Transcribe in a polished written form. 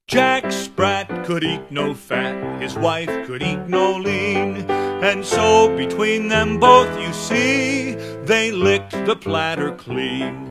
Jack Sprat could eat no fat, his wife could eat no lean, and so between them both, you see, they licked the platter clean.